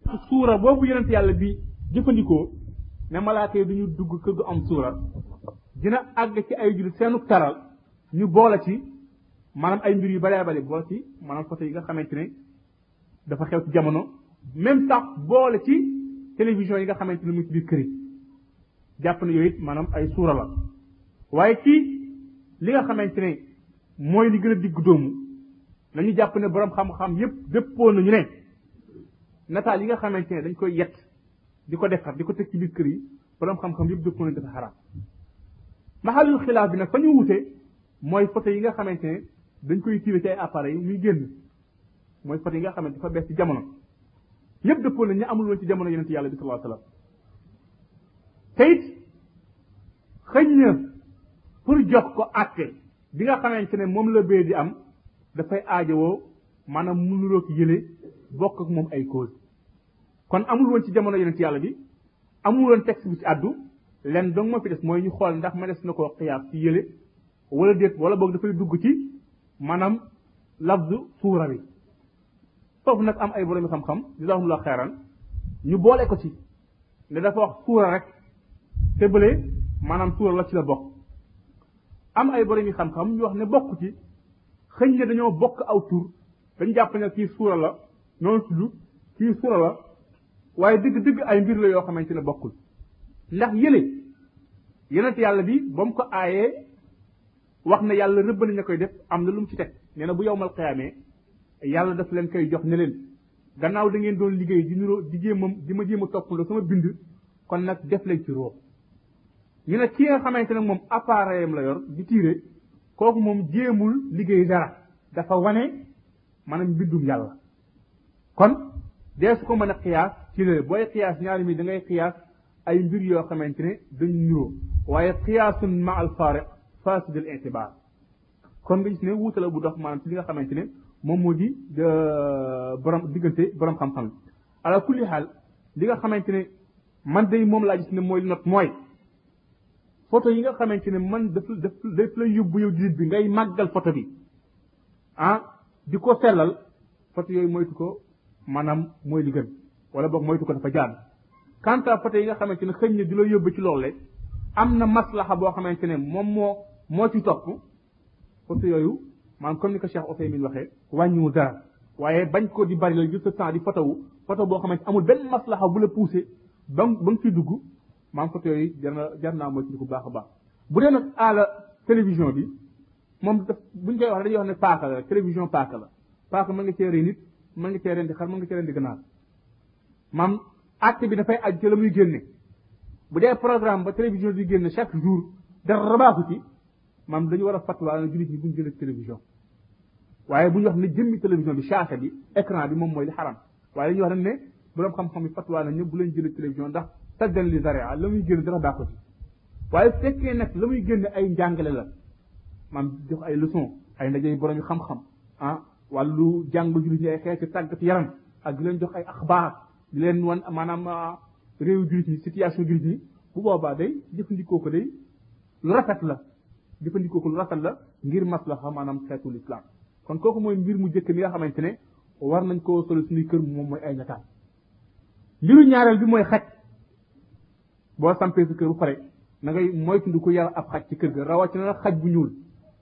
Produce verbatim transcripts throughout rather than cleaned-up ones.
suura boobu yonent yàlla bi jëfandikoo ne malaaka yi duñu dugg kër gu am suura dina àgg ci ay jullit seenu taral ñu boole ci maanaam ay mbir yu bëree bëri boole ci maanaam photo yi nga xamante ne dafa xew ci jamono même sax boole ci télévision yi nga xamante ne mu ci biir kër yi jàpp ne yooyu it maanaam ay suura la waaye ci li nga xamante ne mooy li gën a digg doomu nañu jàpp ne borom xam-xam yépp dëppoo nañu ne nataal yi nga xamante ne dañ koy yett di ko defar di ko teg ci biir kër yi borom xam-xam yépp dëppoo nañu dafa xaraam maxalul xilaaf bi nag fa ñu wute mooy photo yi nga xamante ne dañ koy tiire ci ay appareils yi muy génn mooy photo yi nga xamante dafa bees ci jamono ñëpp dëppoo nañ ñu amul woon ci jamono yonent yàlla bi sallallahu alayhi wasallam te it xëñ na pour jox ko àtte bi nga xamante ne moom la bee di am dafay aajowoo maanaam mënuloo ko yële bokk ak moom ay cause kon amul woon ci jamono yonent yàlla bi amul woon texte bu ci àddu len donc moo fi des mooy ñu xool ndax ma des na koo xiyaas ci yële wala déet wala boog dafay dugg ci maanaam lafzu suura bi foofu nag am ay borom xam-xam jazaahumullahu xeeran ñu boole ko ci ne dafa wax suura rek te bële maanaam suura la ci la bokk am ay borom xam-xam ñu wax ne bokk ci xëñ ne dañoo bokk aw tur dañ jàpp ne kii suura la noonu tudd kii suura la waaye dëgg-dëgg ay mbir la yoo xamante ne bokkul ndax yële yonent yàlla bi ba mu ko aayee wax na yàlla rëbb na ña koy def am na lu mu ci teg nee na bu yowmal xiyaamee yàlla daf leen koy jox ne leen gannaaw da ngeen doon liggéey di niroo di jéem a di ma jéem a toppandoo sama bind kon nag def leen ci roo ñu ne ki nga xamante ne moom appareil am la yor di tiire kooku moom jéemul liggéey dara dafa wane maanaam mbindum yàlla kon dee su ko mën a xiyaas ci la booy xiyaas ñaari mi da ngay xiyaas ay mbir yoo xamante ne dañu niroo waaye xiyaasun ma al faariq fasidul itibaar kon nga gis ne wuute la bu dox maanaam ci li nga xamante ne moom moo di borom diggante borom xam-xam ala kulli xaal li nga xamante ne man day moom laa gis ne mooy not mooy photo yi nga xamante ne man daf daf daf lay yóbbu yow jullit bi ngay màggal photo bi ah di ko sellal photo yooyu moytu ko maanaam mooy li gën wala boog moytu ko dafa jaan quant à photo yi nga xamante ne xëñ na di la yóbbu ci loolu am na maslaxa boo xamante ne moom moo moo ci topp photo yooyu maanaam comme ni ko Cheikh Ousaymin waxee wàññiwu dara waaye bañ ko di bari la jël sa temps di photo wu photo boo xamante amul benn maslaxa bu la poussé ba ba nga ciy dugg maanaam photo yooyu jar na jar naa moytu bu baax a baax bu dee nag àla télévision bi moom daf buñ koy wax dañuy wax ne paaka la télévision paaka la paaka mën nga cee rey nit mën nga cee rendi xar mën nga cee rendi ganaar maam acte bi dafay aj ci la muy génne bu dee programme ba télévision di génne chaque jour dara baaxu ci maam dañu war a fatwa na jullit ñi buñ jëlee télévision waaye bu ñu wax ne jëmmi télévision bi chaâne bi écran bi moom mooy li xaram waaye dañuy wax ne ne borom xam-xam yi fatwa na ñëpp bu leen jëlee télévision ndax taggan li zaria la muy génne dara baaxu ci waaye su fekkee nag la muy génne ay njàngale la maam jox ay leçon ay ndaje borom yu xam-xam ah wàllu jàng jullit ñi ay xeeti tàggat yaram ak di leen jox ay axbaar di leen wan maanaam réew jullit ñi situation jullit ñi bu boobaa day jëfandikoo ko day lu rafet la jëfandikoo ko lu rafet la ngir maslaxa maanaam xeetul islam kon kooku mooy mbir mu jëkk mi nga xamante ne war nañ koo solo suñuy kër moom mooy ay nataal mbiru ñaareel bi mooy xaj boo sampee sa kër bu pare na ngay moytu ko yar ab xaj ci kër ga rawatina na xaj bu ñuul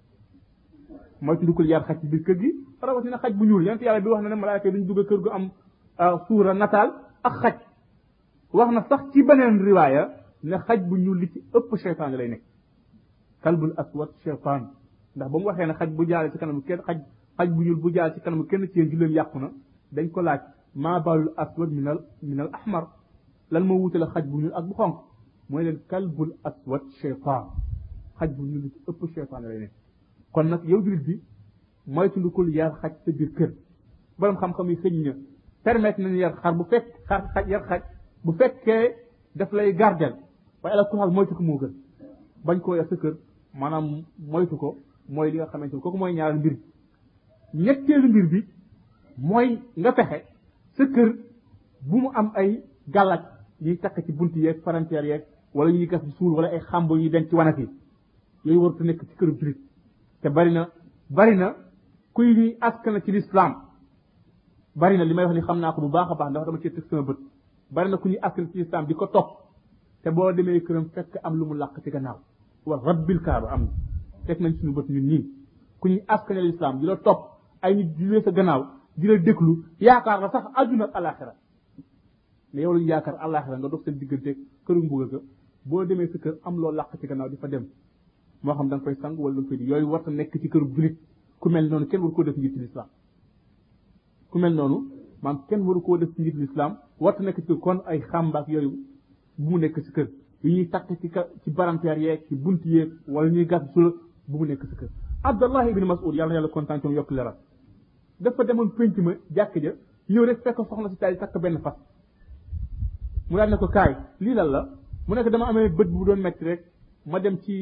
moytu ko yar xaj ci biir kër gi rawatina xaj bu ñuul yonent yàlla bi wax na ne malaaka duñ dugg kër gu am suura nataal ak xaj wax na sax ci beneen riwaaya ne xaj bu ñuul li ci ëpp cheytaan lay nekk kalbul aswad cheytaan ndax ba mu waxee ne xaj bu jaale ci kanamu kenn xaj xaj bu ñuul bu jaale ci kanamu kenn ci yéen julleem yàqu na dañ ko laaj maa baalul aswad minal minal ahmar lan moo wutale xaj bu ñuul ak bu xonq mooy leen kalbul aswad cheytaan xaj bu ñuul li ci ëpp cheytaan lay nekk kon nag yow jullit bi moytundikul yar xaj sa biir kër borom xam-xam yi xëñ na permettre nañu yar xar bu fekk xar xaj yar xaj bu fekkee daf lay gardel waaye ala kulal moytu ko moo gën bañ koo yar sa kër maanaam moytu ko mooy li nga xamante ni kooku mooy ñaari mbir ñetteelu mbir bi mooy nga fexe sa kër bu mu am ay gàllaaj yiy takk ci bunt yeeg palanteer yeeg wala ñuy gas ci suul wala ay xamb yi denc ci wanag yi yooyu warut a nekk ci këru julit te bari na bari na kuy ñuy askan ci l'islam bari na li may wax ni xam naa ko bu baax a baax ndax dama ci teg sama bët bari na ku ñuy askan ci islam di ko topp te boo demee këram fekk am lu mu làq ci gannaaw wa rabbil kaaba am na teg nañ suñu bët ñun nii ku ñuy askanal islam di la topp ay nit di lee sa gannaaw di la déglu yaakaar la sax àdduna ak alaxira mais yow lañu yaakaar alaxira nga dox seen diggante këru mbugal ga boo demee sa kër am loo làq ci gannaaw di fa dem moo xam da nga koy sang wala da nga koy di yooyu war a nekk ci këru julit ku mel noonu kenn waru koo def njiit l'islam ku mel noonu maam kenn waru koo def ci njiit l'islam war a nekk ci kër kon ay xàmbaak yooyu bu mu nekk ci kër yu ñuy takk ci ci baranteer yeeg ci bunt yeeg wala ñuy gas sula bu mu nekk ci kër Abdallah ibn Mas'ud yàlla yàlla kontaan ci yokk leeral dafa demoon pénc ma jàkk ja ñëw rek fekk soxna si taal takk benn fas mu daal ne ko kaay lii lan la mu nekk dama amee bët bu doon metti rek ma dem ci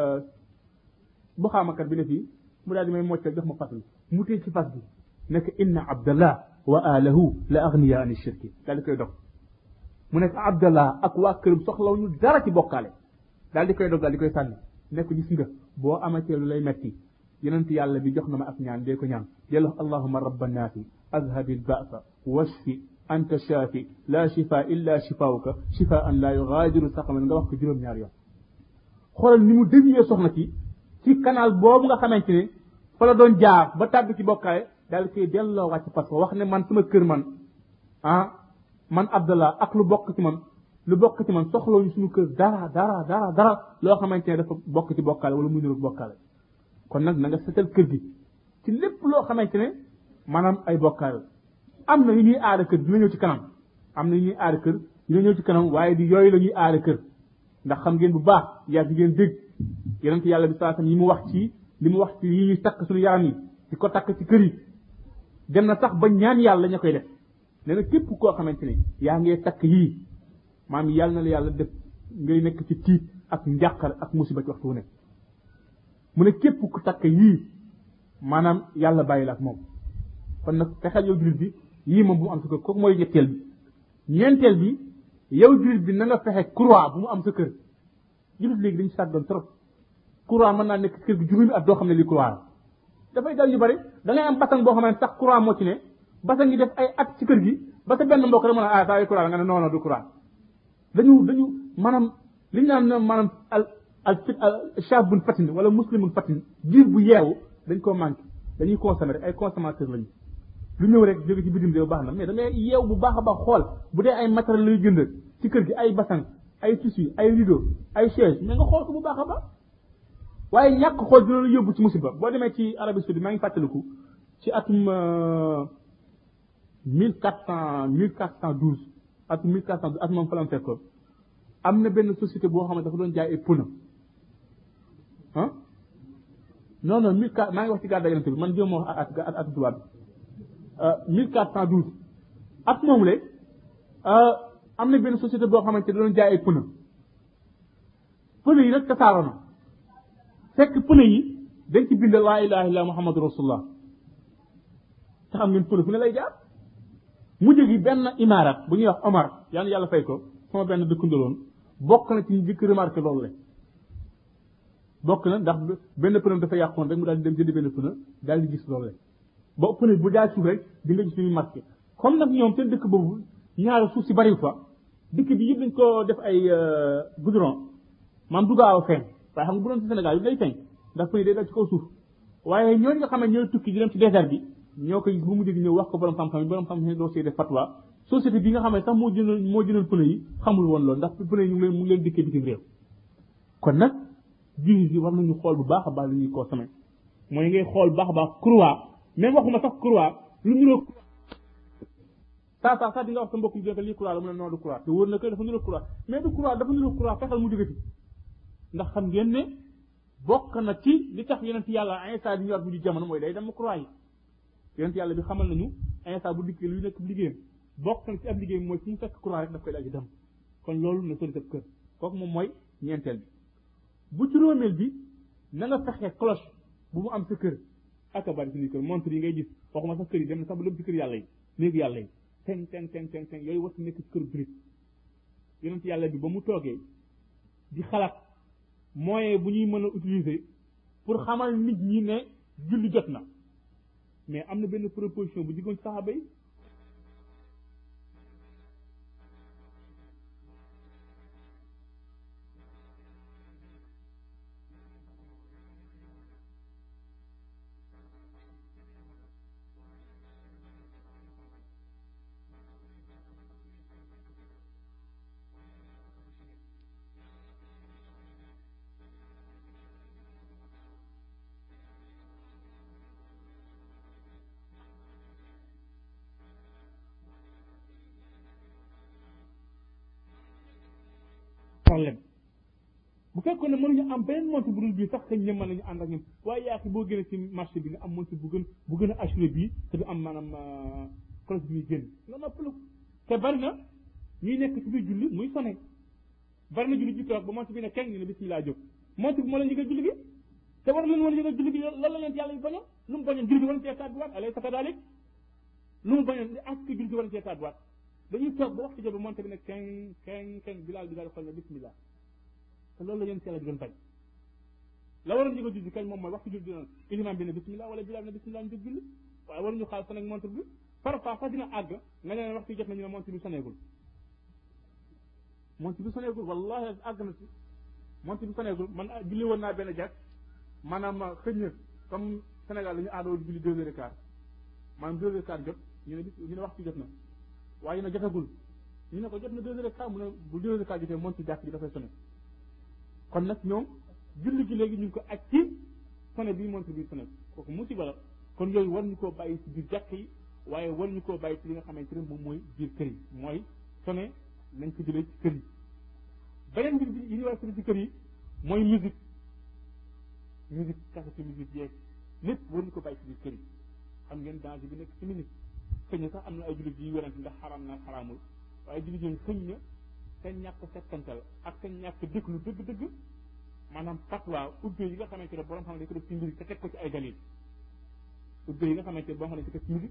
bu xaamakat bi ne fii mu daal di may moccal jox ma fas bi mu téye ci fas bi nekk inna abdallah wa alahu la aghniya an shirki daal di koy dog mu nekk abdallah ak waa këram soxlaw ñu dara ci bokkaale daal di koy dog daal di koy sànni nekk gis nga boo amatee lu lay metti yonent yàlla bi jox na ma ak ñaan dee ko ñaan yàlla allahumma rabban naasi azhabil ba'sa washfi anta shafi la shifa illa shifauka shifaan la yughadiru saqaman nga wax ko juróom ñaar yoon xoolal ni mu dévier soxna ci ci canal boobu nga xamante ne fa la doon jaar ba tàbbi ci bokkaale daal koy delloo wàcc parce que wax ne man sama kër man ah man Abdallah ak lu bokk ci man lu bokk ci man soxlawuñu suñu kër dara dara dara dara loo xamante ne dafa bokk ci bokkaale wala muy niru bokkaale kon nag na nga setal kër gi ci lépp loo xamante ne maanaam ay bokkaale am na yu ñuy aada kër dina ñëw ci kanam am na yu ñuy aada kër dina ñëw ci kanam waaye di yooyu la ñuy aada kër ndax xam ngeen bu baax yaa di ngeen dégg yonent yàlla bi sallallahu alayhi wasallam yi mu wax ci li mu wax ci yi ñuy takk suñu yaram yi di ko takk ci kër yi dem na sax ba ñaan yàlla ña koy def nee na képp koo xamante ne yaa ngee takk yii maam yàlla na la yàlla def ngay nekk ci tiit ak njàqar ak musiba ci waxtu wu nekk mu ne képp ku takk yii maanaam yàlla bàyyi la ak moom kon nag fexeel yow jullit bi yii moom bu mu am sa kër kooku mooy ñetteel bi ñeenteel bi yow jullit bi na nga fexe croix bu mu am sa kër jullit léegi dañu sàggoon trop croix mën naa nekk kër gi juróomi at doo xam ne li croix la dafay dal yu bari da ngay am basang boo xam ne sax croix moo ci ne basang yi def ay at ci kër gi ba sa benn mbokk rek mën a ah saa yu croix la nga ne non non du croix dañu dañu maanaam li ñu naan maanaam al al shabun fatin wala muslimun fatin jiir bu yeewu dañ koo manqué dañuy consommer rek ay consommateur lañu lu ñëw rek jóge ci bitim réew baax na mais da ngay yeew bu baax a baax xool bu dee ay matériel lay jënd ci kër gi ay basang ay tissu ay rideau ay chaise mais nga xool ko bu baax a baax waaye ñàkk xool dina la yóbbu ci musiba boo demee ci Arabie Saoudite maa ngi fàttaliku ci atum mille quatre cent mille quatre cent douze atum mille quatre cent douze atum moom fa la fekkoon am na benn société boo xam ne dafa doon jaay ay pneu ah non non mille quatre maa ngi wax ci gàddaa yonente bi man jéem wax at at at tubaab bi mille quatre cent douze at moom le am na benn société boo xamante da doon jaay ay pneu pneu yi rek tasaaroo na fekk pneu yi dañ ci bind laa ilaha illa muhammadu rasulullah te xam ngeen pneu fu ne lay jaar mujj gi benn imarat bu ñuy wax Omar yàlla yàlla fay ko sama benn dëkkandoloon bokk na ci ñu jëkk remarqué loolu le bokk na ndax benn pneu dafa yàqoon rek mu daal di dem jënd benn pneu daal di gis loolu le ba pneu bu jaar suuf rek di nga gis ñuy marqué comme nag ñoom seen dëkk boobu ñaari suuf si bariw fa dëkk bi yëpp dañ ko def ay goudron maam du gaaw a feeñ waaye xam nga bu doon ci Sénégal yi day feeñ ndax pneu day dal ci kaw suuf waaye ñooñu nga xam ne ñooy tukki di dem ci désert bi ñoo koy bu mu jóg ñëw wax ko borom xam-xam yi borom xam-xam yi doo see def fatwa société bi nga xam ne sax moo jëndoon moo jëndoon pneu yi xamul woon loolu ndax pneu yi ñu ngi leen mu ngi leen dikkee bitim réew kon nag jullit yi war nañu xool bu baax a baax li ñuy consommer mooy ngay xool bu baax a baax croix même waxuma sax croix lu niroo saa saa saa di nga wax sa mbokk yi lii croix la mu ne non du croix te wóor na ko dafa niroo croix mais du croix dafa niroo croix fexeel mu jógati ndax xam ngeen ne bokk na ci li tax yonent yàlla Isa di ñëwaat bu di jamono mooy day dem croix yi yonent yàlla bi xamal nañu Isa bu dikkee luy nekk liggéeyam bokk na ci ab liggéeyam mooy fu mu fekk croix rek daf koy daal di dem kon loolu na sori sa kër kooku moom mooy ñeenteel bi bu juróomeel bi na nga fexe cloche bu mu am sa kër ak a bari suñuy kër montre yi ngay gis waxuma sax kër yi dem na sax ba dem ci kër yàlla yi néegu yàlla yi teng teng teng teng teng yooyu war nekk ci kër jurit yonent yàlla bi ba mu toogee di xalaat moyen bu ñuy mën a utiliser pour xamal nit ñi ne julli jot na mais am na benn proposition bu jigoon saxaaba yi problème bu fekkoon ne mënuñu am beneen montre bu dul bii sax xëy na mën nañu ànd ak ñun waaye yaa boo gënee ci marché bi nga am montre bu gën bu gën a assuré bii te du am maanaam cloche bi muy génn nga noppalu te bari na ñuy nekk ci biir julli muy sonné bari na julli ji toog ba montre bi ne kenn ñu ne bismillah jóg montre bi moo leen yëgal julli gi te war leen woon yëgal julli gi loolu la leen yàlla yu bañoon lu mu bañoon julli gi war na cee tàdduwaat alay sa kadalik lu mu bañoon ak julli gi war na cee tàdduwaat dañuy toog ba waxtu jot ba montre bi ne kenn kenn kenn bilaal bi daal di xool ne bismillah te loolu la yéen si yàlla di doon bañ la waroon yëgal julli kañ moom mooy waxtu julli dina iliman bi ne bismillah wala bilaal ne bismillah ñu jóg julli waaye waruñu xaal sa nag montre bi parfois sax dina àgg nga ne waxtu jot nañu ne montre bi soneegul montre bi soneegul wallahi àgg na ci montre bi soneegul man julli woon naa benn jàkk maanaam xëy na comme Sénégal dañu aadoo julli deux heures et quart maanaam deux heures et quart jot ñu ne bis ñu ne waxtu jot na waaye na jotagul ñu ne ko jot na deux heures et quart mu ne bu deux heures et quart jotee montre jàkk ji dafay sonné kon nag ñoom julli gi léegi ñu ngi ko aj ci sonné bii montre bii sonné kooku musiba la kon yooyu war ñu koo bàyyi ci biir jàkk yi waaye war ñu koo bàyyi ci li nga xamante ne moom mooy biir kër yi mooy sonné nañ ko jëlee ci kër yi beneen mbir bi yi ñu war a sonné ci kër yi mooy musique musique kaseti musique yeeg lépp war ñu ko bàyyi ci biir kër yi xam ngeen danger bi nekk ci musique xëy na sax am na ay jullit yi werante ndax xaraam na xaraamul waaye jullit ñoom xëy na seen ñàkk settantal ak seen ñàkk déglu dëgg-dëgg maanaam fatwa ubbee yi nga xamante ne borom xam ne dañ ko def ci musique te teg ko ci ay dalil ubbee yi nga xamante ne boo xam ne dañ ko def ci musique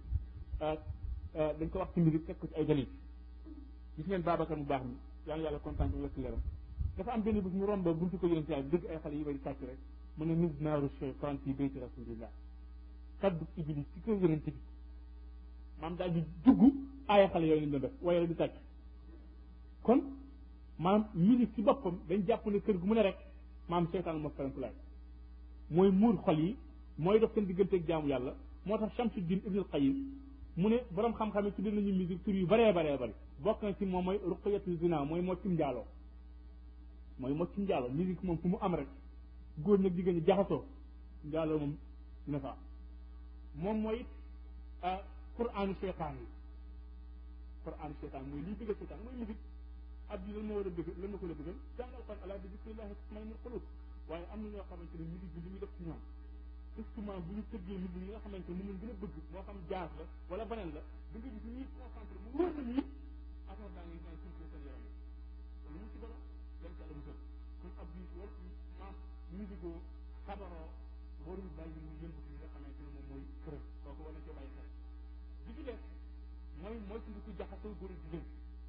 dañ ko wax ci musique teg ko ci ay dalil gis ngeen Babacar mu baax mi yàlla yàlla kontaan ci wekk leeram dafa am benn bis mu romb buntu ko yonent yàlla dëgg ay xale yi bari sàcc rek mu ne mis naaru cheytaan fi bayti rasulillah kaddu iblis ci kër yonent bi maanaam daal di dugg aaya xale yooyu lañ doon def waaye rek di sàcc kon maanaam musique ci boppam dañ jàpp ne kër gu mu ne rek maanaam seytaan moo ferenkulaay mooy muur xol yi mooy dox seen digganteeg jaamu yàlla moo tax Shamsuddin Ibnul Qayyim mu ne borom xam-xam yi tuddee nañu musique tur yu bëree bëree bëri bokk na ci moom mooy ruqyatu zina mooy moccum njaaloo mooy moccum njaaloo musique moom fu mu am rek góor ñag jigéen ñi jaxasoo njaaloo moom ne fa moom mooy qur'aanu seytaan yi qur'aanu seytaan mooy liy bëggal seytaan mooy musique ab ji lan moo war a bëgg lan ma ko la bëggal jàngal kon ala bi zikrillahi tatma'innul qulub waaye am na ñoo xamante ne musique bi li muy def ci ñoom instrument bu ñu tëggee musique yi nga xamante ne moom lañ gën a bëgg moo xam jazz la wala beneen la da nga gis ñuy concentré mu wóor na ñii affaire daa ngi naan suñ seen yaram yi lu mu ci dara dañ ci àlla musal kon ab bi war maam musique oo xabaroo warul bàyyi mu yëngu ci li nga xamante ne moom mooy kër kooku war na cee bàyyi xel bi ci def mooy mooy suñu ko jaxasoo góor jigéen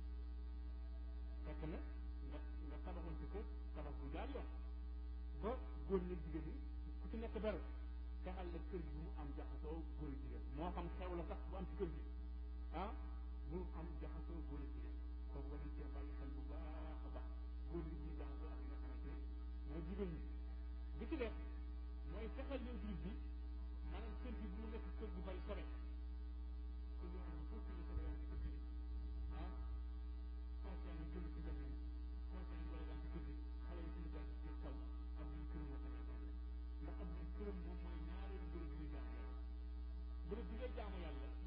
fekk na nga nga tabaxoon ci kër tabax bu jaar yoon ba góor ñi jigéen ñi ku ci nekk dara fexal la kër gi bu mu am jaxasoo góor jigéen moo xam xew la sax bu am ci kër gi ah bu mu am jaxasoo góor jigéen kooku war nañ cee bàyyi xel bu baax a baax góor ñi ñuy jaxasoo ak li nga xamante ne mooy jigéen ñi bi ci def mooy fexal yow jullit bi maanaam kër gi bu mu nekk kër gu bari sore kër yoo xam ne foofu la sore yaa ci kër gi ah conseil yi jël ci kër gi conseil yi wala daal ci kër gi xale yi suñu daal ci taw am nañ këram la tamit ndax am nañ këram moom mooy ñaareelu bërëb bi ñuy jaamu yàlla bërëb bi ngay jaamu yàlla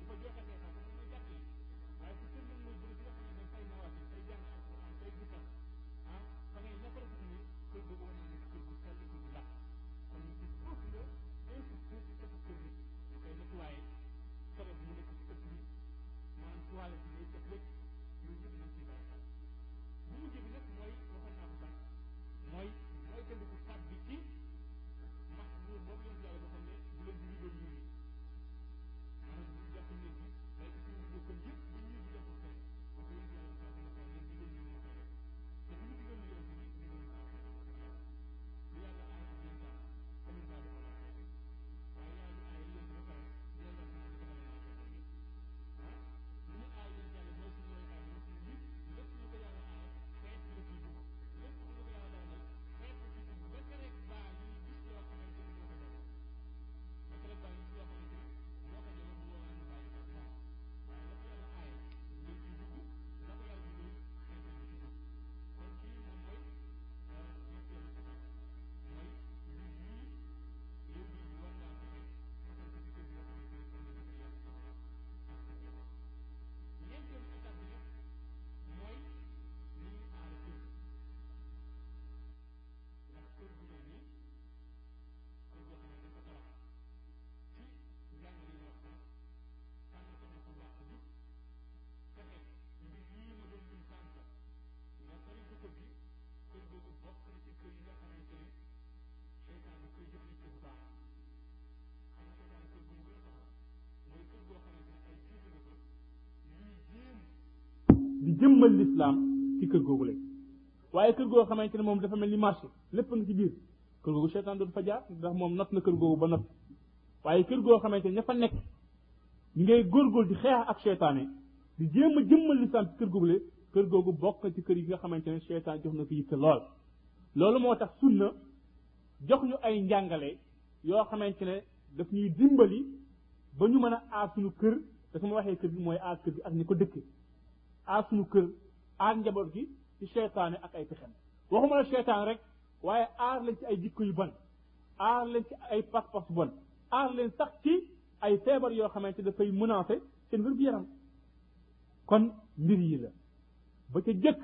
jëmmal l'islam ci kër googu lay waaye kër goo xamante ne moom dafa mel ni marché lépp nga ci biir kër googu seytaan dootu fa jaar ndax moom not na kër googu ba not waaye kër goo xamante ne ña fa nekk ñu ngay góorgóor di xeex ak seytaane di jéem a jëmmal l'islam ci kër googu lay kër googu bokk ci kër yi nga xamante ne seytaan jox na ko yitte lool loolu moo tax sunna jox ñu ay njàngale yoo xamante ne daf ñuy dimbali ba ñu mën a aar suñu kër te su ma waxee kër gi mooy aar kër gi ak ñi ko dëkke aar suñu kër aar njaboot gi ci seytaane ak ay pexem waxuma la seytaan rek waaye aar leen ci ay jikko yu bon aar leen ci ay pas-pas bon aar leen sax ci ay feebar yoo xamante dafay menacer seen wér gu yaram kon mbir yi la ba ca jëkk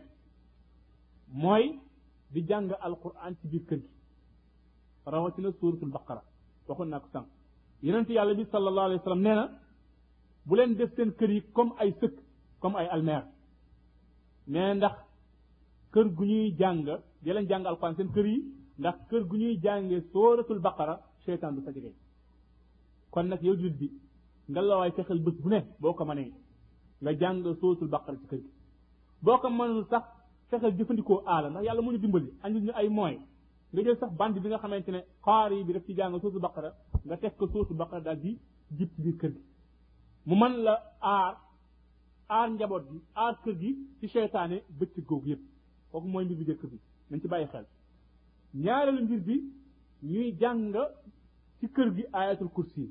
mooy di jàng alquran ci biir kër gi rawatina suuratul baqara waxoon naa ko sànq yonent yàlla bi sallallahu alayhi wa sallam nee na bu leen def seen kër yi comme ay sëkk comme ay almeer nee ndax kër gu ñuy jàng di leen jàng alquran seen kër yi ndax kër gu ñuy jàngee suuratul baqara seytaan du fa jege kon nag yow jullit bi nga la waay fexeel bés bu ne boo ko mënee nga jàng suuratul baqara ci kër gi boo ko mënul sax fexeel jëfandikoo aala ndax yàlla mu ñu dimbali andi ñu ay moyens nga jël sax bande bi nga xamante ne xaari bi daf ci jàng suuratul baqara nga teg ko suuratul baqara daal di jib ci biir kër gi mu mën la aar aar njaboot gi aar kër gi ci seytaane bëccëg googu yëpp kooku mooy mbir bi jëkk bi nañ ci bàyyi xel ñaareelu mbir bi ñuy jàng ci kër gi ayatul kursi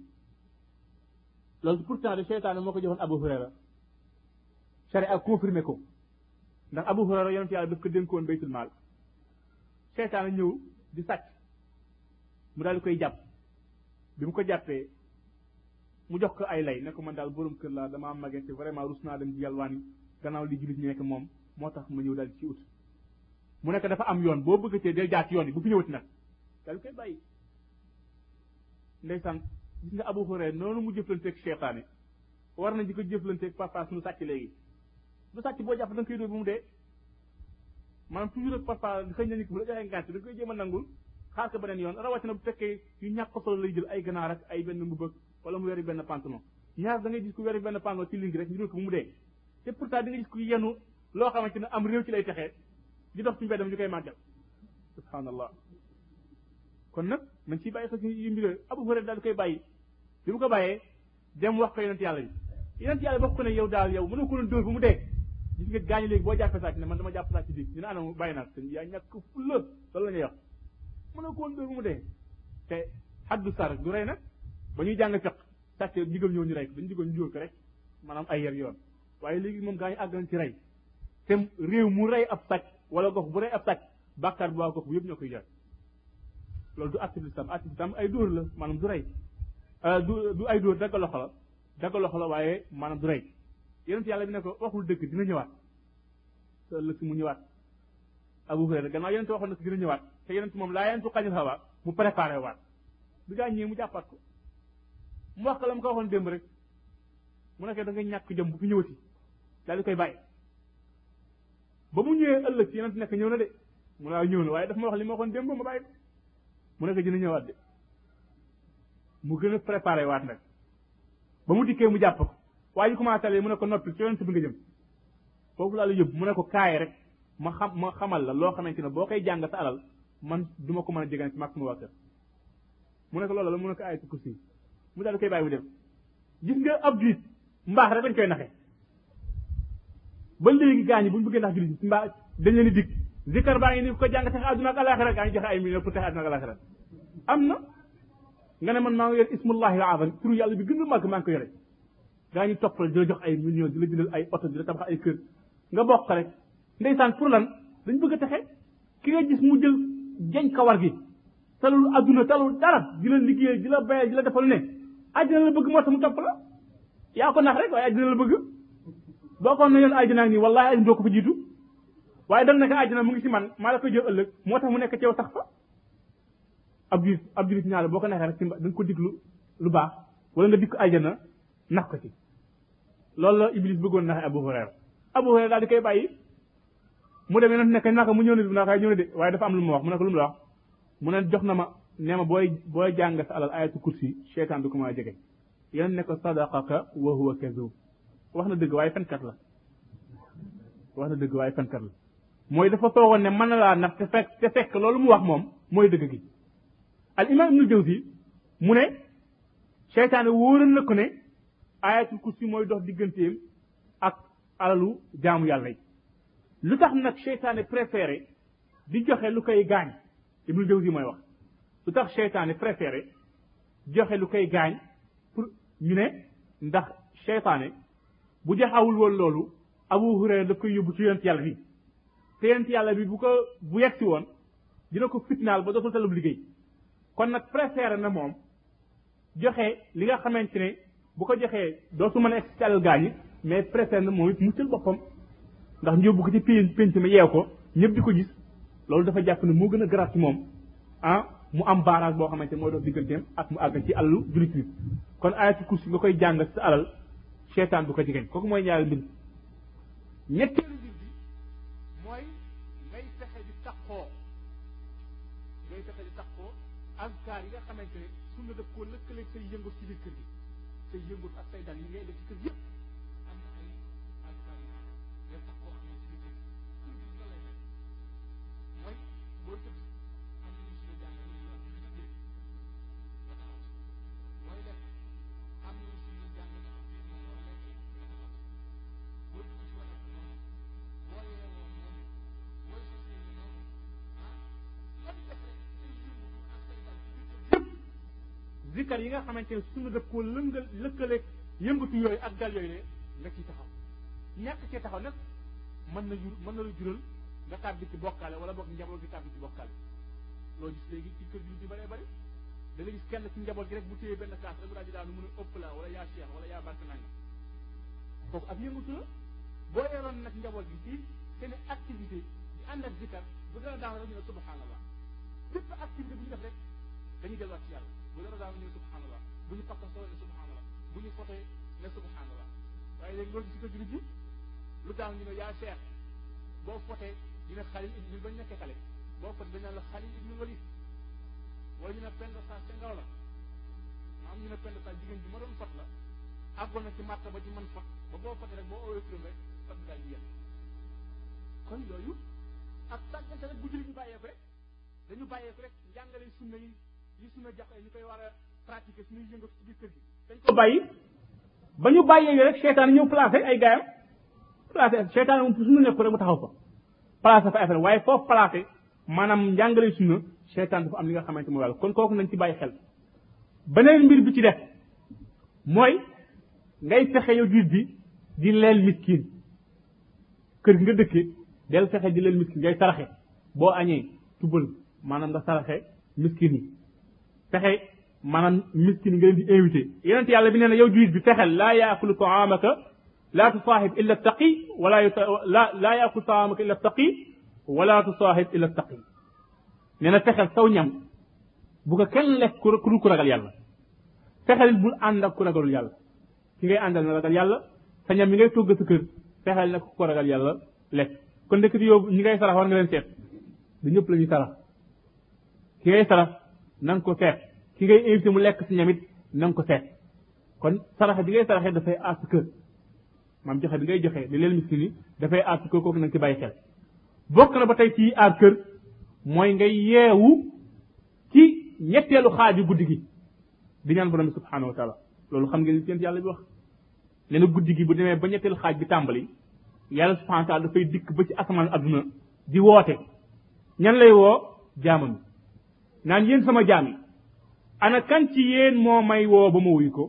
loolu pourtant de seytaane moo ko joxoon Abu Hurayra sharia confirmé ko ndax Abu Hurayra yonent yàlla daf ko dénkoon baytul maal seytaane ñëw di sàcc mu daal di koy jàpp bi mu ko jàppee mu jox ko ay lay ne ko man daal borom kër laa damaa màggee te vraiment rus naa dem ci yalwaani gannaaw li jullit ñi nekk moom moo tax ma ñëw daal di ci ut mu nekk dafa am yoon boo bëggatee del jaar ci yoon yi bu fi ñëwati nag daal di koy bàyyi ndeysaan gis nga Abu Hurayra noonu mu jëflanteeg seytaane war nañ di ko jëflanteeg papa suñu sàcc léegi du sàcc boo jàpp da nga koy dóor ba mu dee maanaam toujours ak papa xëy na nit bu la joxee ngànt da nga koy jéem a nangul xaar ko beneen yoon rawatina bu fekkee yu ñàkk solo lay jël ay ganaar ak ay benn mbubb wala mu weri benn pantalon ñaar da ngay gis ku weri benn pantalon ci ligne rek ñu dóor ko ba mu dee te pourtant di nga gis ku yenu loo xamante ne am réew ci lay texee di dox ci mbeddam ñu koy màggal subhanallah kon nag man ciy bàyyi xel yu mbir Abu Hurayra daal di koy bàyyi bi mu ko bàyyee dem wax ko yonent yàlla bi yonent yàlla bokk ko ne yow daal yow mënoo ko doon dóor ba mu dee gis nga gaañu léegi boo jàppee sàcc ne man dama jàpp sàcc bi ñu ne anam bàyyi naa sëñ yaa ñàkk fulla loolu la ñuy wax mënoo ko woon dóor ba mu dee te xaddu sar du rey nag ba ñuy jàng fiq sàcc digal ñëw ñu rey ko dañu digal ñu jóor ko rek maanaam ay yer yoon waaye léegi moom gaañu àgg nañ ci rey te réew mu rey ab sàcc wala gox bu rey ab sàcc bàkkaar bu waa gox bu yëpp ñoo koy jar loolu du acte l'islam acte l'islam ay dóor la maanaam du rey du du ay dóor dagga loxo la dagga loxo la waaye maanaam du rey yonent yàlla bi ne ko waxul dëgg dina ñëwaat te ëllëg si mu ñëwaat Abu Hurayra gannaaw yonent waxoon na ko dina ñëwaat te yonent moom laa yentu xañul hawa mu préparé waat bi gaa ñëwee mu jàppaat ko mu wax ko la mu ko waxoon démb rek mu nekkee da nga ñàkk jëm bu fi ñëwati daal di koy bàyyi ba mu ñëwee ëllëg si yonent nekk ñëw na de mu laa ñëw na waaye daf ma wax li ma waxoon démb ma bàyyi ko mu nekk dina ñëwaat de mu gën a préparé waat nag ba mu dikkee mu jàpp ko waaye ñu commencé mu ne ko noppi ci yonent bi nga jëm foofu laa la yóbbu mu ne ko kaay rek ma xam ma xamal la loo xamante ne boo koy jàng sa alal man du ma ko mën a jegane ci mag sama waa kër mu ne ko loolu la mu ne ko ayatul kursi mu daal di koy bàyyi mu dem gis nga ab julit mbaax rek dañ koy naxe ba léegi gaañi bu ñu bëggee ndax julit mbaax dañ leen di dig zikar baa ngi ni ko jàng tax àdduna ak alaxira gaa ngi joxe ay millions pour tax àdduna ak alaxira am na nga ne man maa ngi yor ismullahi al azam turu yàlla bi gën a màgg maa ngi ko yore gaa ñu toppal di la jox ay millions di la jëndal ay oto di la tabax ay kër nga bokk rek ndeysaan pour lan dañ bëgg a texe ki nga gis mu jël jañ kawar gi talul adduna talul dara di la liggéey di la bayal di la defal ne àddina la bëgg moo tax mu topp la yaa ko nax rek waaye àddina la bëgg boo ko ne yoon àddina nii wallahi àddina doo ko fa jiitu waaye dam nekk àddina mu ngi ci man maa la koy jël ëllëg moo tax mu nekk ci yow sax fa ab julit ab julit ñaar boo ko neexee rek ci da nga ko diglu lu baax wala nga dikk àjjana nax ko ci loolu la Iblis bëggoon naxe Abu Hurayra Abu Hurayra daal di koy bàyyi mu demee noonu nekk naka mu ñëw ne naka ñëw ne de waaye dafa am lu ma wax mu ne ko lu mu la wax mu ne jox na ma nee ma booy booy jàng sa alal ayatu kursi seytaan du ko mën a jege yéen ne ko sadaqaka wa huwa kazub wax na dëgg waaye fenkat la wax na dëgg waaye fenkat la mooy dafa toogoon ne mën na laa nax te fekk te fekk loolu mu wax moom mooy dëgg gi al imam ibnu jawzi mu ne seytaane wóoral na ko ne ayatul kursi mooy dox digganteem ak alalu jaamu yàlla yi lu tax nag seytaane préféré di joxe lu koy gaañ ibnu jawzi mooy wax lu tax seytaane préféré joxe lu koy gaañ pour ñu ne ndax seytaane bu joxawul woon loolu Abu Hurayra daf koy yóbbu ci yonent yàlla bi te yonent yàlla bi bu ko bu yegsi woon dina ko fitnaal ba dootul talub liggéey kon nag préféré na moom joxe li nga xamante ne bu ko joxee dootu mën a egsi ci alal gaañi mais préféré na moom it muccal boppam ndax ñu yóbbu ko ci pénc pénc mi yeew ko ñëpp di ko gis loolu dafa jàpp ne moo gën a garaat ci moom ah mu am barrage boo xamante mooy dox digganteem ak mu àgg ci alalu julit bi kon ayatul kursi nga koy jàng sa alal seytaan du ko jigéen kooku mooy ñaari mbir ñetteelu mbir bi mooy ngay fexe di taxoo ngay fexe di taxoo azkar yi nga xamante ne su nga def koo lëkkaleeg say yëngu ci biir kër gi say yëngu ak say dal yi ngay def ci kër yëpp am na ay azkar yi ngay taxoo ak ñoom ci biir kër gi kër gi nga lay def mooy boo tëdd am na ñu si la jàng ñu la ñu tëddee nga taxaw mooy def am na ñu si la jàng nga xam ne moom war a lekk nga taxaw boo dugg ci wàllu noonu boo yeewoo noonu boo sosee noonu ah lan def rek say yëngu ak say dal ci biir kër yëpp zikar yi nga xamante ne suñu def koo lëngal lëkkaleeg yëngatu yooyu ak dal yooyu ne nga ciy taxaw ñàkk cee taxaw nag mën na jur mën na la jural nga tàbbi ci bokkaale wala boog njaboot gi tàbbi ci bokkaale loolu gis léegi ci kër gi di bëree bëri da nga gis kenn ci njaboot gi rek bu téyee benn kaas rek mu daal di daanu mun a ëpp la wala yaa cheikh wala yaa barke nanga kooku ak yëngatu la boo yoroon nag njaboot gi ci seen activité di ànd ak zikar bu dara daan rek ñu ne subhanallah bépp activité bu ñu def rek dañuy delluwaat ci yàlla bu dara daan ñu ne subhanallah bu ñu fakka soo ne subhanallah bu ñu fotoy ne subhanallah waaye léegi loolu ci kër gi lu daan ñu ne yaa cheikh boo fotee ñu ne xalil ibnu bañ nekkee xale boo fote dañ naan la xalil ibnu walid wala ñu ne pend sa ca ngaw la am ñu ne pend sa jigéen bi ma doon fot la àggoon na ci màtta ba ci man fot ba boo fotee rek boo owee turam rek fot daal di yem kon yooyu ak tàggante rek bu julli ñu bàyyee ko rek dañu bàyyee ko rek njàngale sunna yi yi sunna jax ñu koy war a pratiquer suñuy yëngatu ci biir kër gi dañ ko bàyyi ba ñu bàyyee yi rek seytaan ñëw placé ay gaayam placé seytaan moom suñu nekk rek mu taxaw fa placé fa affaire waaye foofu placé maanaam njàngale sunna seytaan dafa am li nga xamante mooy wàll kon kooku nañ ci bàyyi xel beneen mbir bi ci def mooy ngay fexe yow jiit bi di leel miskin kër gi nga dëkkee del fexe di leel miskin ngay saraxe boo añee tubal maanaam nga saraxe miskin yi fexe maanaam miskin yi nga leen di invité yeneen yàlla bi nee na yow jiit bi fexel laa yaakulu taamaka laa tusaaxib illa taqi wala la laa yaakulu taamaka illa taqi wala tusaaxib illa taqi nee na fexel saw ñam bu ko kenn lekk ku dul ku ragal yàlla fexel bul ànd ak ku ragalul yàlla ki ngay àndal na ragal yàlla sa ñam mi ngay togg sa kër fexel nag ku ragal yàlla lekk kon ndekk di yow ñi ngay sarax war nga leen seet du ñëpp la ñuy sarax ki ngay sarax na nga ko seet ki ngay invité mu lekk si ñamit na nga ko seet kon saraxe bi ngay saraxee dafay aar sa kër maam joxe bi ngay joxe li leen miskin yi dafay aar sa kër kooku na nga ci bàyyi xel bokk na ba tey ci aar kër mooy ngay yeewu ci ñetteelu xaaju guddi gi di ñaan borom bi subhanahu wa taala loolu xam ngeen seen yàlla bi wax nee na guddi gi bu demee ba ñetteelu xaaj bi tàmbali yàlla subhanahu wa taala dafay dikk ba ci asamaan adduna di woote ñan lay woo jaamam naan yéen sama jaam yi ana kan ci yéen moo may woo ba ma wuyu ko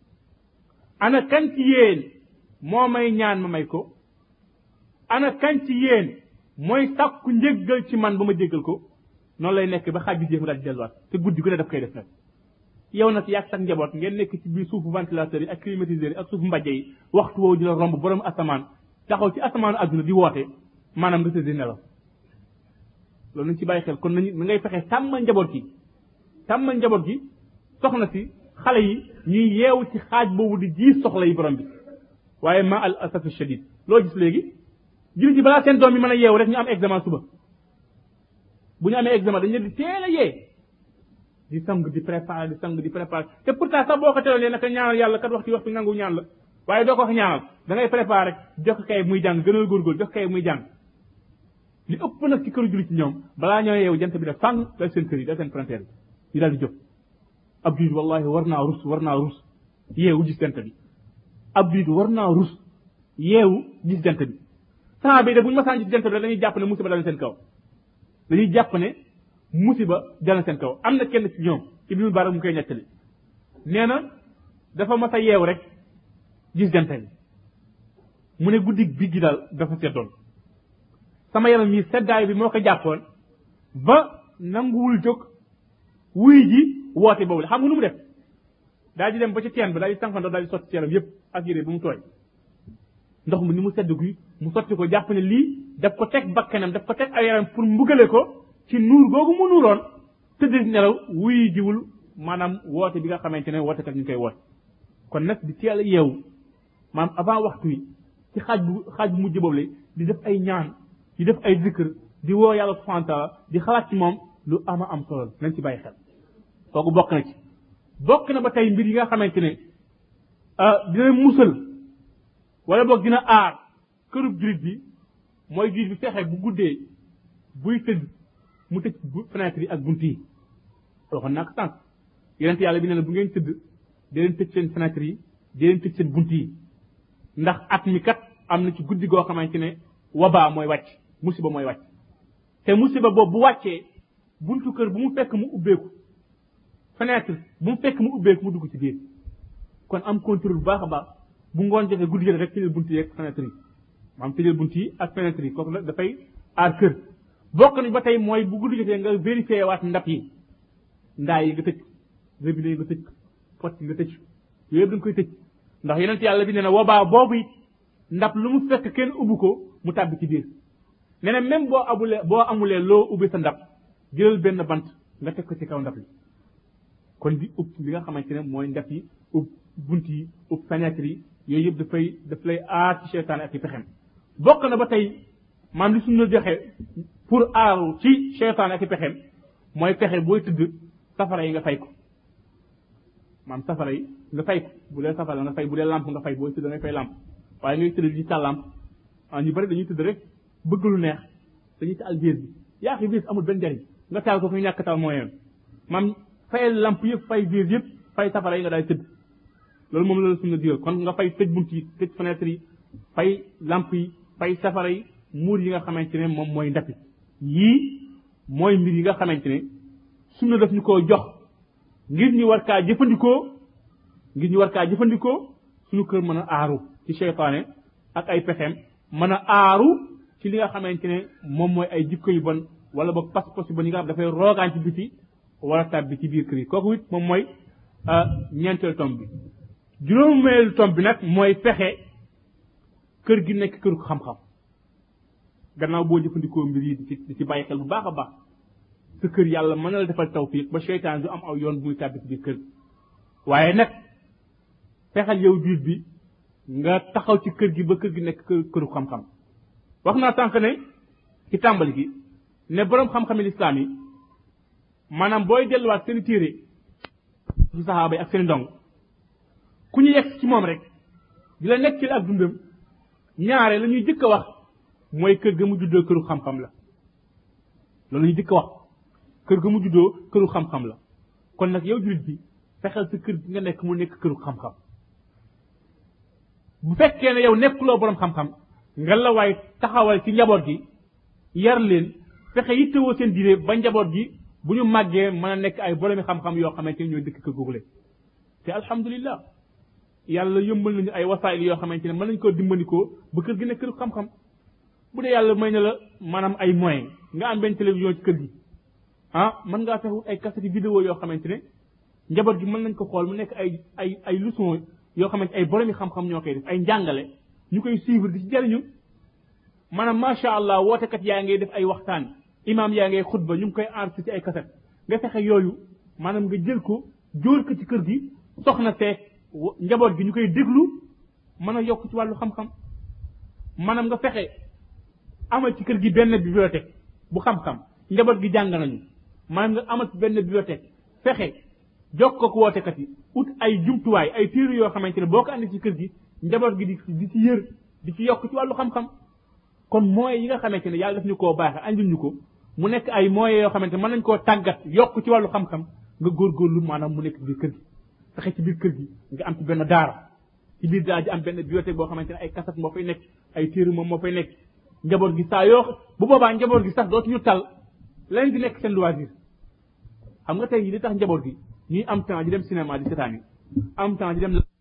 ana kan ci yéen moo may ñaan ma may ko ana kan ci yéen mooy sàkku njéggal ci man ba ma jéggal ko noonu lay nekk ba xaaj bi jéem mu daal di delluwaat te guddi gu ne daf koy def nag yow nag yàgg sax njaboot ngeen nekk ci biir suufu ventilateur yi ak climatiseur yi ak suufu mbàjje yi waxtu woowu di la romb borom asamaan taxaw ci asamaanu adduna di woote maanaam nga tëdd nelaw loolu nañ ci bàyyi xel kon nañu na ngay fexe tàmmal njaboot gi tàmmal njaboot gi soxna si xale yi ñuy yeewu ci xaaj boobu di ji soxla yi borom bi waaye ma al asafi shadid loo gis léegi jullit yi balaa seen doom yi mën a yeewu rek ñu am examen suba bu ñu amee examen dañu leen di teel a yee di sang di préparer di sang di préparer te pourtant sax boo ko teeloon naka ñaanal yàlla kat waxtu waxtu nangu ñaan la waaye doo ko wax ñaanal da ngay préparé rek jox kay muy jàng gënal góorgóor jox kay muy jàng li ëpp nag ci këru julli ci ñoom balaa ñoo yeewu jant bi def fang dal seen kër yi dal seen frontière bi ñu daal di jóg ab julit wallahi war naa rus war naa rus yeewu gis jant bi ab julit war naa rus yeewu gis jant bi saa bi de bu ñu masaan gis jant bi dañuy jàpp ne musiba dal seen kaw dañuy jàpp ne musiba dal seen kaw am na kenn ci ñoom ibnu barak mu koy ñettali nee na dafa mas a yeew rek gis jant bi mu ne guddi bi gi daal dafa seddoon sama yaram yi seddaay bi moo ko jàppoon ba nanguwul jóg wuy ji woote boobu la xam nga nu mu def daal di dem ba ci teen bi daal di tànqandoo daal di sotti ci yaram yépp ak yére bu mu tooy ndox mi ni mu sedd guy mu sotti ko jàpp ne lii daf ko teg bakkanam daf ko teg ay yaram pour mbugale ko ci nuur googu mu nuuroon tëdd nelaw wuy jiwul maanaam woote bi nga xamante ne woote kat ñu koy woote kon nag di teel a yeewu maanaam avant waxtu yi ci xaaj bu xaaj bu mujj boobu la di def ay ñaan di def ay zikr di woo yàlla subhanahu wa taala di xalaat ci moom lu ama am solo nañ ci bàyyi xel kooku bokk na ci bokk na ba tey mbir yi nga xamante ne dina musal wala boog dina aar kërub julit bi mooy julit bi fexe bu guddee buy tëdd mu tëj fenêtre yi ak bunt yi waxoon naa ko sànq yonent yàlla bi nee na bu ngeen tëdd di leen tëj seen fenêtre yi di leen tëj seen bunt yi ndax at mi kat am na ci guddi goo xamante ne wabaa mooy wàcc musiba mooy wàcc te musiba boobu bu wàccee buntu kër bu mu fekk mu ubbeeku fenêtre bu mu fekk mu ubbeeku mu dugg ci biir kon am contrôle bu baax a baax bu ngoon jotee guddi jotee rek tëjal bunt yi ak fenêtre yi maanaam tëjal bunt yi ak fenêtre yi kooku nag dafay aar kër bokk nañ ba tey mooy bu guddi jotee nga vérifié waat ndab yi ndaa yi nga tëj robinet yi nga tëj pot yi nga tëj yooyu yëpp da nga koy tëj ndax yonent yàlla bi nee na wabaa boobu it ndab lu mu fekk kenn ubbi ko mu tàbbi ci biir nee na même boo amulee boo amulee loo ubbi sa ndab jëlal benn bant nga teg ko ci kaw ndab li kon di ub li nga xamante ne mooy ndab yi ub bunt yi ub fenêtre yi yooyu yëpp dafay daf lay aar ci seytaane ak i pexem bokk na ba tey maam li suñu joxe pour aaru ci seytaane ak i pexem mooy pexe booy tëdd safara yi nga fay ko maam safara yi nga fay ko bu dee safara nga fay bu dee lampe nga fay booy tëdd nga fay lampe waaye ngay tëdd di taal lampe ah ñu bari dañuy tëdd rek bëgg lu neex dañuy taal biir bi yaa xi biir amul benn njariñ nga taal ko fu ñàkk taal moo yoon maam fayal lampe yëpp fay biir yëpp fay safara yi nga daal tëdd loolu moom la suñu digal kon nga fay tëj bunt yi tëj fenêtre yi fay lampe yi fay safara yi muur yi nga xamante ne moom mooy ndapi yii mooy mbir yi nga xamante ne suñu def ñu koo jox ngir ñu war kaa jëfandikoo ngir ñu war kaa jëfandikoo suñu kër mën a aaru ci seytaane ak ay pexeem mën a aaru ci li nga xamante ne moom mooy ay jikko yu bon wala ba pas-pas yu bon yi nga xam dafay roogaan ci biti wala tàbbi ci biir kër yi kooku it moom mooy ñeenteelu tomb bi juróomeelu tomb bi nag mooy fexe kër gi nekk këru xam-xam gannaaw boo jëfandikoo mbir yi di ci di ci bàyyi xel bu baax a baax sa kër yàlla mën na la defal tawfiq ba seytaan du am aw yoon bu muy tàbbi ci biir kër waaye nag fexeel yow juut bi nga taxaw ci kër gi ba kër gi nekk këru xam-xam wax naa sànq ne ci tàmbali gi ne boroom xam-xami lislaam yi maanaam booy delluwaat seen téere ci saxaaba yi ak seen ndong ku ñu yegg ci moom rek di la nekk ci ak dundam ñaare la ñuy jëkk a wax mooy kër ga mu juddoo këru xam-xam la loolu la ñuy jëkk a wax kër ga mu juddoo këru xam-xam la kon nag yow jullit bi fexeel sa kër gi nga nekk mu nekk këru xam-xam bu fekkee ne yow nekkuloo boroom xam-xam nga la waay taxawal ci njaboot gi yar leen fexe yittewoo seen diine ba njaboot gi bu ñu màggee mën a nekk ay boroomi xam-xam yoo xamante ne ñooy dëkk kër googu te alhamdulillah yàlla yëmbal nañu ay wasaayil yoo xamante ne mën nañu koo dimbandikoo ba kër gi nekk këru xam-xam bu dee yàlla may na la maanaam ay moyens nga am benn télévision ci kër gi ah mën ngaa fexe ay cassette vidéo yoo xamante ne njaboot gi mën nañ ko xool mu nekk ay ay ay leçon yoo xamante ay boroomi xam-xam ñoo koy def ay njàngale ñu koy suivre di ci jariñu maanaam macha allah wootekat yaa ngay def ay waxtaan imam yaa ngay xutba ñu ngi koy enregistré ci ay cassette nga fexe yooyu maanaam nga jël ko jóor ko ci kër gi soxna seek njaboot gi ñu koy déglu mën a yokk ci wàllu xam-xam maanaam nga fexe amal ci kër gi benn bibliothèque bu xam-xam njaboot gi jàng nañu maanaam nga amal ci benn bibliothèque fexe jokkoo ko wootekat yi ut ay jumtuwaay ay téere yoo xamante ne boo ko andi ci kër gi njaboot gi di di ci yër di ci yokk ci wàllu xam-xam kon moyens yi nga xamante ne yàlla daf ñu koo baaxe andil ñu ko mu nekk ay moyens yoo xamante mën nañ koo tàggat yokk ci wàllu xam-xam nga góorgóorlu maanaam mu nekk biir kër gi fexe ci biir kër gi nga am ci benn daara ci biir daara ji am benn bibliothèque boo xamante ne ay kaset moo fay nekk ay téere moom moo fay nekk njaboot gi saa yoo bu boobaa njaboot gi sax dootuñu tal leen di nekk seen loisir xam nga tey li tax njaboot gi ñuy am temps di dem cinéma di seetaan yi am temps di dem